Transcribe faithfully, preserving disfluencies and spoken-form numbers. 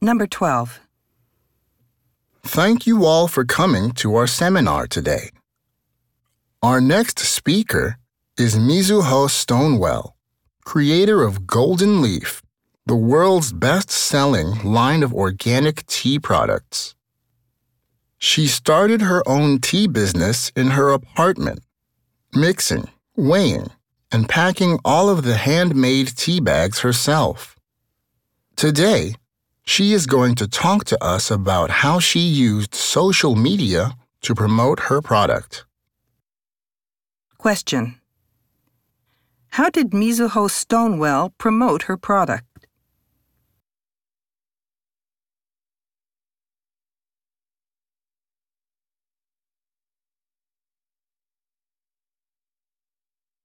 Number twelve. Thank you all for coming to our seminar today. Our next speaker is Mizuho Stonewell, creator of Golden Leaf, the world's best-selling line of organic tea products. She started her own tea business in her apartment, mixing, weighing, and packing all of the handmade tea bags herself. Today, she is going to talk to us about how she used social media to promote her product. Question. How did Mizuho Stonewell promote her product?